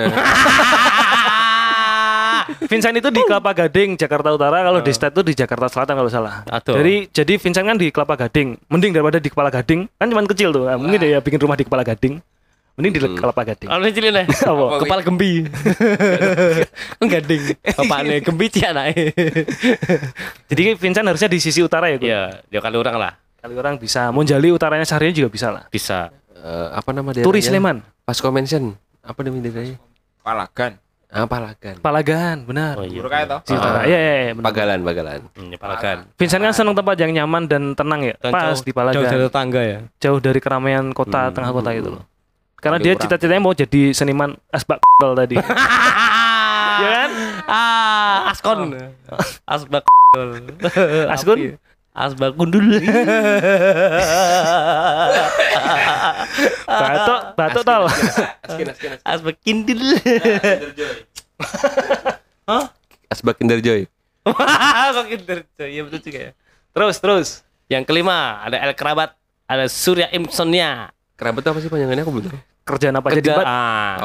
Vincent itu di Kelapa Gading, Jakarta Utara. Kalau Desta itu di Jakarta Selatan kalau salah. Aduh. Jadi jadi Vincent kan di Kelapa Gading. Mending daripada di Kepala Gading. Kan cuma kecil tuh. Nah, mungkin dia bikin rumah di Kepala Gading. Mending di Kelapa Gading. Kalau cilin ya. Apa? Kepala gembi. Gading. Bapaknya gembi sih anaknya. Jadi Vincent harusnya di sisi utara ya, Gun? Iya, dia kali orang lah. Kali orang bisa. Monjali utaranya Syahrini juga bisa lah. Bisa. Eh, apa nama daerahnya? Turi Sleman, Pasco Mansion. Apa nama daerahnya? Palagan. Ah, Palagan. Palagan, benar. Oh iya. Buruk aja toh. Sisi utara. Iya, iya, iya, benar. Pagalan, Pagalan. Hmm, ya, Palagan. Vincent kan senang tempat yang nyaman dan tenang ya. Dan Pas jauh- di Palagan. Jauh dari tetangga ya. Jauh dari keramaian kota, Hmm. tengah kota itu loh. Karena Paling dia kurang. cita-citanya mau jadi seniman asbak tadi. Ya kan? Ah, Askon. Asbak. Askun? Apa ya? Asbak gundul. Batuk, batuk tol. Asbak kindil. Asbak Kinderjoy. Kok kinder. Iya betul juga ya. Terus, terus. Yang kelima ada El Kerabat, ada Surya Imsonia. Kerabat itu apa sih panjangannya aku belum tahu. Kerjaan apa aja di Kerja. Bat? Ah.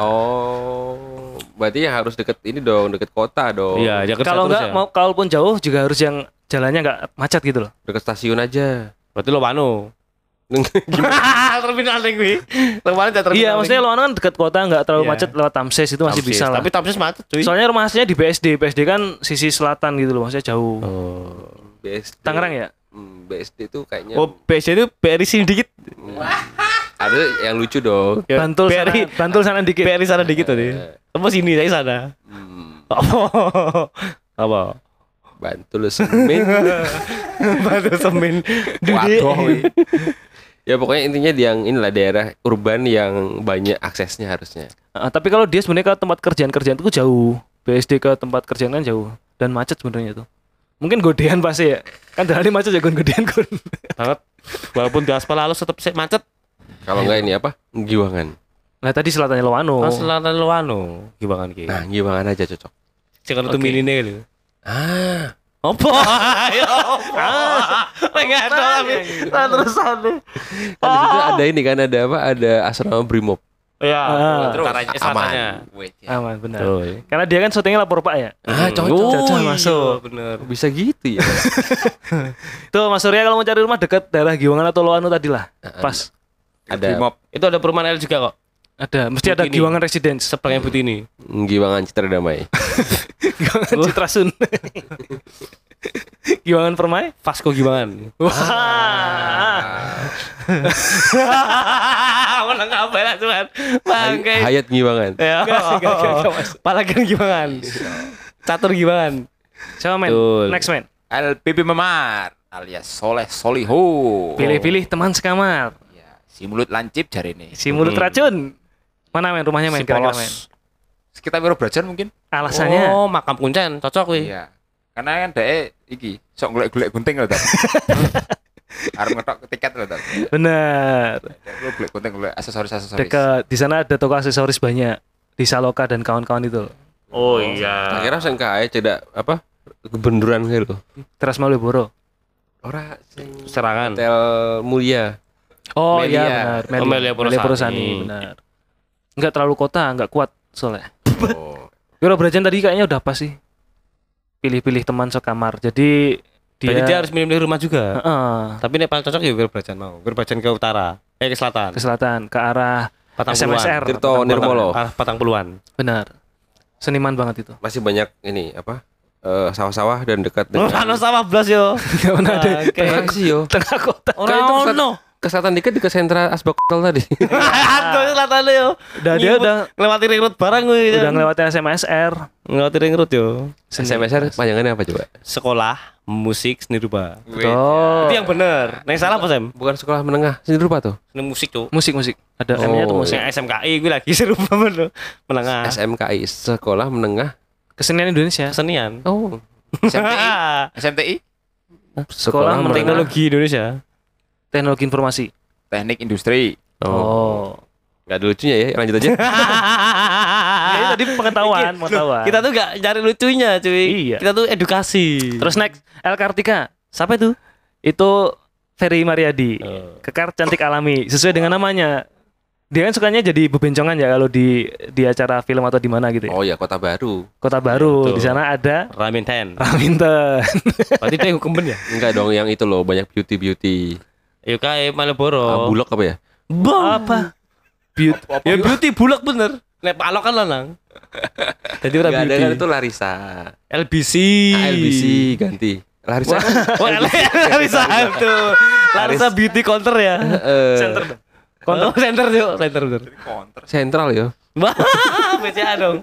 Oh, berarti yang harus deket ini dong, deket kota dong. Iya, dia kerja Kalau terus enggak ya. mau kalaupun jauh juga harus yang jalannya nggak macet gitu loh. Dekat stasiun aja. Berarti lo wano. Terminal nih gue. Terminal terminal. Iya, maksudnya Loano kan dekat kota, nggak terlalu Iya. macet, lewat Tamses itu masih Tamsis. bisa lah. Tapi Tamsis macet cuy. Soalnya rumah aslinya di B S D, B S D kan sisi selatan gitu loh, maksudnya jauh. Oh. B S D. Tangerang ya? Hmm, B S D itu kayaknya Oh, B S D itu B R I sini dikit. ada yang lucu dong. Ya, Bantul B R I sana, Bantul sana dikit. B R I sana dikit tadi. Apa sini saya sana. Hmm, Apa? Apa? Bantul Semin. Batu semen. Waduh. weh. Ya pokoknya intinya di yang inilah daerah urban yang banyak aksesnya harusnya. Ah, tapi kalau dia sebenarnya ke tempat kerjaan-kerjaan itu jauh. B S D ke tempat kerjaan kan jauh dan macet sebenarnya itu. Mungkin godean pasti ya. Kan dari macet ya godean gon. Banget. Walaupun di aspal halus tetap sih macet. Kalau enggak ini apa? Giwangan. Nah, tadi selatannya Loano. Oh, selatan Luano. Gimana ki? Nah, Giwangan aja cocok. Jangan itu Oke. mini lho. Ah, Apa? Ayo. Enggak ada tapi terusan. kan di situ ada ini kan ada apa? Ada asrama Brimob. Ya, Ah. terus selatannya. Wait, ya. Aman, benar. Tuh. Karena dia kan syutingnya lapor Pak ya. Ah, cocok. Oh, Cocok, iya, masuk. bener. Bisa gitu ya. Tuh Mas Surya kalau mau cari rumah dekat daerah Giwangan atau Loano tadi lah. Pas. Ada Brimob. Itu ada perumahan L juga kok. Ada, mesti ada Butini. Giwangan Residence. Sebelahnya Butini. Giwangan Citra Damai. Giwangan Citra Sun. Giwangan Permai. Vasco Giwangan. Wah. Menang apa lah cuman. Bangke. Hayat Giwangan. Ya. Palagan Giwangan. Catur Giwangan. Coba men, Betul. next man. L P P Memar alias Soleh Soliho. Pilih-pilih teman sekamar. Ya, si mulut lancip jari ini. Si mulut Hmm. racun. Mana men rumahnya men Si kira-kira polos. men. Sekitar Wiro Brajan mungkin. Alasannya Oh, makam kuncen, cocok wih. Iya. Karena kan dhek iki sok golek-golek gunting lho, Tat. Arep ngetok tiket lho, Tat. benar. Lu golek gunting, golek aksesoris-aksesoris. Dekat di sana ada toko aksesoris banyak di Saloka dan kawan-kawan itu. Oh iya. Akhirnya sing kae cedak apa? Kebenduran gitu. Teras Malioboro. Ora sing Serangan. Hotel Mulia. Oh Melia. iya benar. Oh, Melia Porosani. Porosani, benar. Enggak terlalu kota, enggak kuat soalnya. Oh. Wiro Brajan tadi kayaknya udah pas sih. Pilih-pilih teman sekamar. Jadi dia, Berarti dia harus milih rumah juga. Heeh, Tapi ini paling cocok ya Wiro Brajan mau. Wiro Brajan ke utara, eh ke selatan. ke selatan, ke arah Patang S M S R. puluhan. Tirto Patang Nirmolo. Puluhan. Arah Patang Puluhan. Benar. Seniman banget itu. Masih banyak ini apa? Eh, sawah-sawah dan dekat Oh, dengan ano sawah blas yo. Enggak pernah ada Oke. Mana sih yo? tengah kota. Kan itu Ora ke ono. ke selatan dikit di ke sentra Asbak Hotel tadi. Aduh, selatan yo. Udah dia Nyibuk, udah ngelewati ring road barang gue. udah ngelewatin S M S R. Ngelewati ring road yo. S M S R panjangannya apa coba? Sekolah musik seni rupa. Betul. Itu yang bener. Nah, yang salah apa, Sam? Bukan sekolah menengah seni rupa tuh. Seni musik, Cuk. Musik musik. Ada Oh. M-nya tuh musik. Yang S M K I gue lagi seni rupa bener. Menengah. S M K I Sekolah Menengah. Kesenian Indonesia. Kesenian. Oh. S M T I. S M T I Sekolah Menengah. Teknologi Indonesia. Teknologi Informasi. Teknik Industri. Oh. Gak ada lucunya ya, lanjut aja. Ya, itu tadi pengetahuan, pengetahuan. Kita tuh gak cari lucunya, cuy. Iya. Kita tuh edukasi. Terus next El Kartika. siapa itu? Itu Ferry Mariadi. Oh. Kekar cantik alami sesuai dengan namanya. Dia kan sukanya jadi bebencongan ya kalau di di acara film atau di mana gitu ya. Oh ya, Kota Baru. Kota Baru. Betul. Di sana ada Ramen Ten. Raminten. Berarti dia hukum ben ya? Enggak dong, yang itu loh, banyak beauty-beauty. Yuk kayak Ah, Malioboro. bulog apa ya? Apa? Beauty. Ya beauty bulak bener. Nek palok kan lanang. Jadi ora Enggak ada beauty. kan itu Larissa. L B C. Ah, L B C ganti. Larissa. Oh, Larissa itu. Larissa beauty counter ya. Eh, Center dong. Counter center yuk, center bener. Counter. Sentral ya. Wah, B C A dong.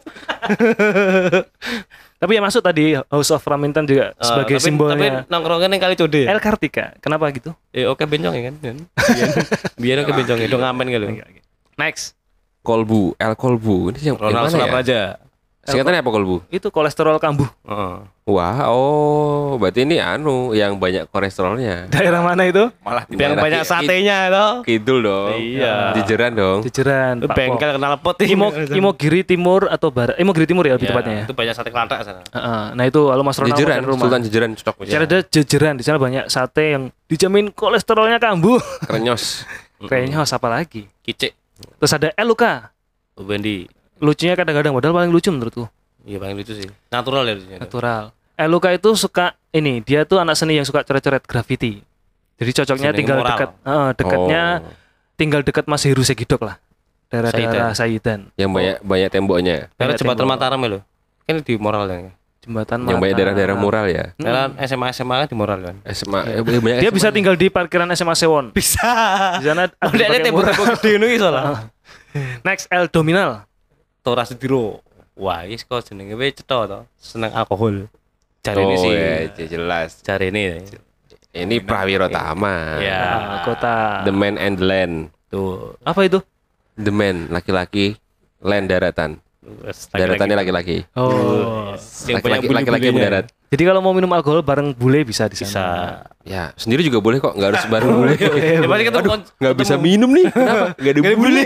Tapi yang masuk tadi House of Raminten juga Eh, sebagai tapi, simbolnya Tapi nongkrongnya yang kali code ya. El Kartika. Kenapa gitu? Ya oke bencong ya kan. Biar- Biar oke bencong ya, dong ngamen gitu. Next. Kolbu, El Kolbu. Ini yang, yang Ronald mana ya? Surapraja. Singkatannya apa Kolbu? Itu kolesterol kambuh. Heeh. Wah, oh, berarti ini anu yang banyak kolesterolnya. Daerah mana itu? Malah di Yang Daerah banyak ki- satenya toh. Kidul dong. Iya. Jejeran dong. Jejeran. Itu bengkel kenal pot Imo Imogiri Timur atau Barat? Imogiri Timur ya lebih Iya, tepatnya ya. Itu banyak sate kelantak sana. Heeh. Nah itu kalau Mas Ronald Jejeran, makan rumah. Sultan Jejeran cocok. Cara ada jejeran di sana banyak sate yang dijamin kolesterolnya kambuh. Krenyos. Kayaknya harus apa lagi? Kicik. Terus ada El Luka. Wendy. Lucunya kadang-kadang modal paling lucu menurutku. Iya paling lucu sih. Natural ya lucunya. Natural. El Luka itu suka ini, dia tuh anak seni yang suka coret-coret graffiti. Jadi cocoknya Seneng tinggal moral. dekat, eh, dekatnya Oh. tinggal dekat Mashiru Segidok lah. Daerah-daerah Saidan. Yang banyak banyak temboknya. Karena Banyak jembatan tembok. Mataram ya lo. Kan di moral kan. Jembatan Yang banyak Mataram. daerah-daerah mural ya. Karena S M A S M A kan di moral kan. S M A eh, banyak Dia S M A. bisa tinggal di parkiran S M A Sewon. Bisa. Di sana ada Udah ada pakai murah. tembok-tembok gede ngono iki soalnya. Next El Dominal. Tora Sudiro. Wah, iki kok jenenge wis cetha to. Seneng alkohol. Cari Oh ini sih. ya, jelas. Cari ini. Ini Prawiro Tama. Ya. Ah, kota. The man and the land. Tuh. Apa itu? The man laki-laki, land daratan. Daratannya laki-laki. Oh. Yang punya Laki-laki laki-laki bulu-bulunya. mendarat. Jadi kalau mau minum alkohol bareng bule bisa di sana. Bisa. Ya, sendiri juga boleh kok, enggak harus bareng bule. Ya pasti ketemu Enggak bisa minum nih. Kenapa? Enggak ada bule.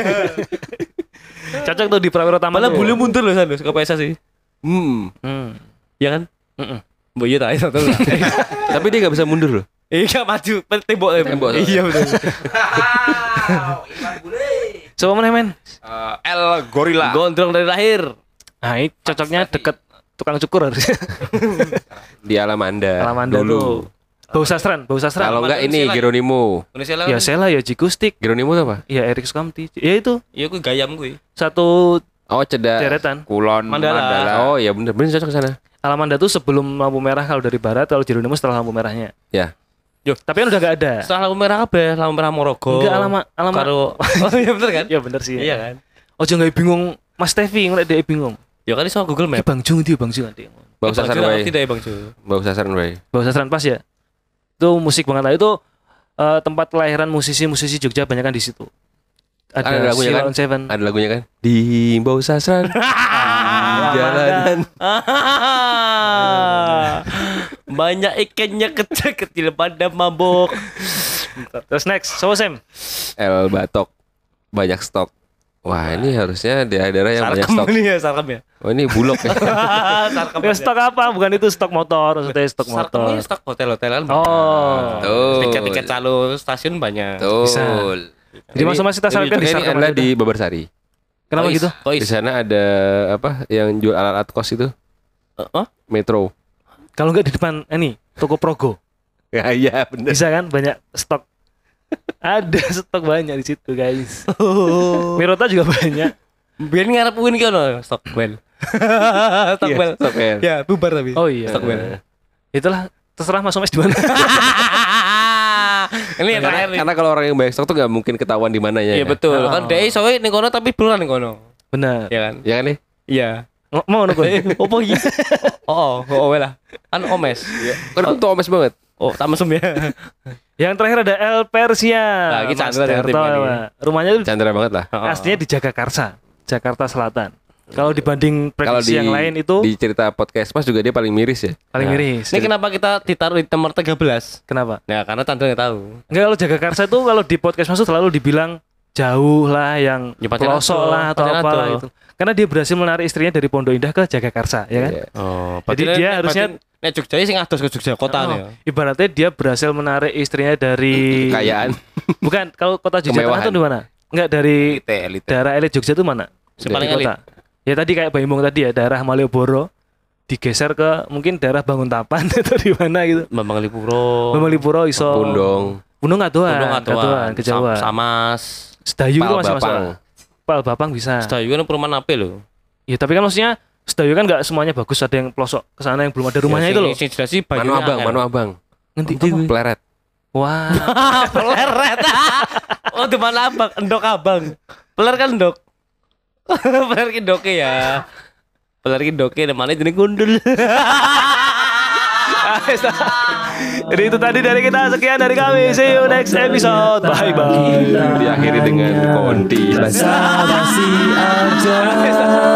Cocok tuh di Prawiro Taman. Malah tuh. bulu mundur loh San, ke P S sih. Hmm. Hmm. Ya kan? Mm-mm. Mbok iya tak satu. Tapi dia enggak bisa mundur loh. Iya maju tembok Tembok. Iya betul. Coba mana men? Eh, El Gorilla. Gondrong dari lahir. Nah, ini cocoknya deket tukang cukur harusnya. Di Alamanda. Alamanda dulu. tuh. Bau sastran, bau sastran. Kalau enggak Alamanda ini Sela. Geronimo. Indonesia lah. Ya Sela ya Jikustik. Geronimo itu apa? Ya Erik Sukamti. Ya itu Iya ku gayam kuwi. satu Oh, cedak. deretan. Kulon Mandala. Mandala. Oh, iya bener bener cocok ke sana. Alamanda tuh sebelum lampu merah kalau dari barat, kalau Jeronimo setelah lampu merahnya. Ya. Yo, Tapi kan udah gak ada. setelah lampu merah apa? Lampu merah Morogo. Enggak alama alama. Karo Oh iya bener kan? Ya bener sih. Iya kan? Oh jangan bingung Mas Tevi ngeliat dia bingung. Ya kan iso Google Ini Map. Bang Jung itu Bang Jung nanti. Bau sasaran wae. Tidak ya Bang Ju. Bau sasaran wae. Bau sastran pas ya. Itu musik banget lah itu eh, tempat kelahiran musisi-musisi Jogja banyak kan di situ. Ada Ada lagunya Sheila kan? on Seven. Ada lagunya kan? Di Bau Sasaran. Jalanan. Banyak ikannya kecil-kecil pada mabok. Terus next, so Sam. El Batok. Banyak stok. Wah, ini harusnya daerah-daerah yang banyak Sarkem stok. ini ya sarkem ya. Oh, ini bulog ya. Sarkem. Ya stok apa? Bukan itu stok motor, maksudnya stok Sarkem motor. ini stok hotel-hotelan. Oh. Tuh. Tiket-tiket calo stasiun banyak. Betul. Jadi masuk masih tas Ini, kan di ini Sarkem adalah aja di Babarsari. Kenapa Kois, gitu? Kois. Di sana ada apa yang jual alat-alat kos itu? Eh, oh? Metro. Kalau nggak di depan ini toko Progo. Ya, iya bener. Bisa kan banyak stok. Ada stok banyak di situ, guys. Mirota juga banyak. Biar ngarep win kono Stockwell. Stockwell. Stockwell. Ya, bubar tapi. Oh iya. Stockwell. Itulah terserah Mas Omes di mana. Ini yang terakhir nih. Karena kalau orang yang banyak stok tuh nggak mungkin ketahuan di mananya. Iya ya. betul. Oh. Kan dia soalnya ning kono tapi beneran ning kono. Benar. Ya kan? Ya kan nih? Iya. Ng- Mau nunggu. Opo iki? Oh, oh, oh lah. Kan Omes. Kan aku tuh omes banget. Oh, tak mesum ya. Yang terakhir ada El Persia. Nah, ini Mas Chandra dengan Darto, timnya nih. Pak. Rumahnya itu Chandra banget lah. aslinya di Jagakarsa, Jakarta Selatan. Kalau dibanding Kalau prediksi di yang lain itu di cerita podcast Mas juga dia paling miris ya. paling Nah, miris. Ini kenapa kita ditaruh di nomor tiga belas? Kenapa? Nah, karena Chandra nggak tahu. Enggak, kalau Jagakarsa itu kalau di podcast masuk selalu dibilang jauh lah, yang Ya, pasti pelosok nado, lah atau pasti apalah nado. itu. Karena dia berhasil menarik istrinya dari Pondok Indah ke Jagakarsa, ya kan? Iya. Oh, Jadi dia harusnya- nek Jogja sing ados ke Jogja kota Oh, ya. ibaratnya dia berhasil menarik istrinya dari Kekayaan. Bukan, kalau kota Jogja Tengah Kemewahan. itu di mana? Enggak, dari Elite, elite. daerah elit Jogja itu mana? Yang Di paling kota. Ya tadi kayak Baimbong tadi ya, daerah Malioboro digeser ke mungkin daerah Banguntapan atau di mana gitu. Bambang Lipuro. Bambalipuro iso. Pundong. Pundong Ngadoan, Pundong Ngadoan, Atuan, ke Jawa. Samas. Sedayu itu Pal masih masuk. Bapang. Pal Bapang bisa. Sedayu kan perumahan apa lho? Ya tapi kan maksudnya Sedayu kan nggak semuanya bagus, ada yang pelosok ke sana yang belum ada rumahnya Ya, itu sing- loh. Sing jelas sih Manu banyunya Abang, angel. Manu Abang. Ngerti Apa? Pleret. Wah. Peleret. Oh, di mana abang? Endok abang. Peler kan endok. Peler ki ndoke ya. Peler ki ndoke namanya jeneng gundul. Jadi itu tadi dari kita, sekian dari kami. See you next episode. Bye bye. Diakhiri dengan konti. Basa-basi aja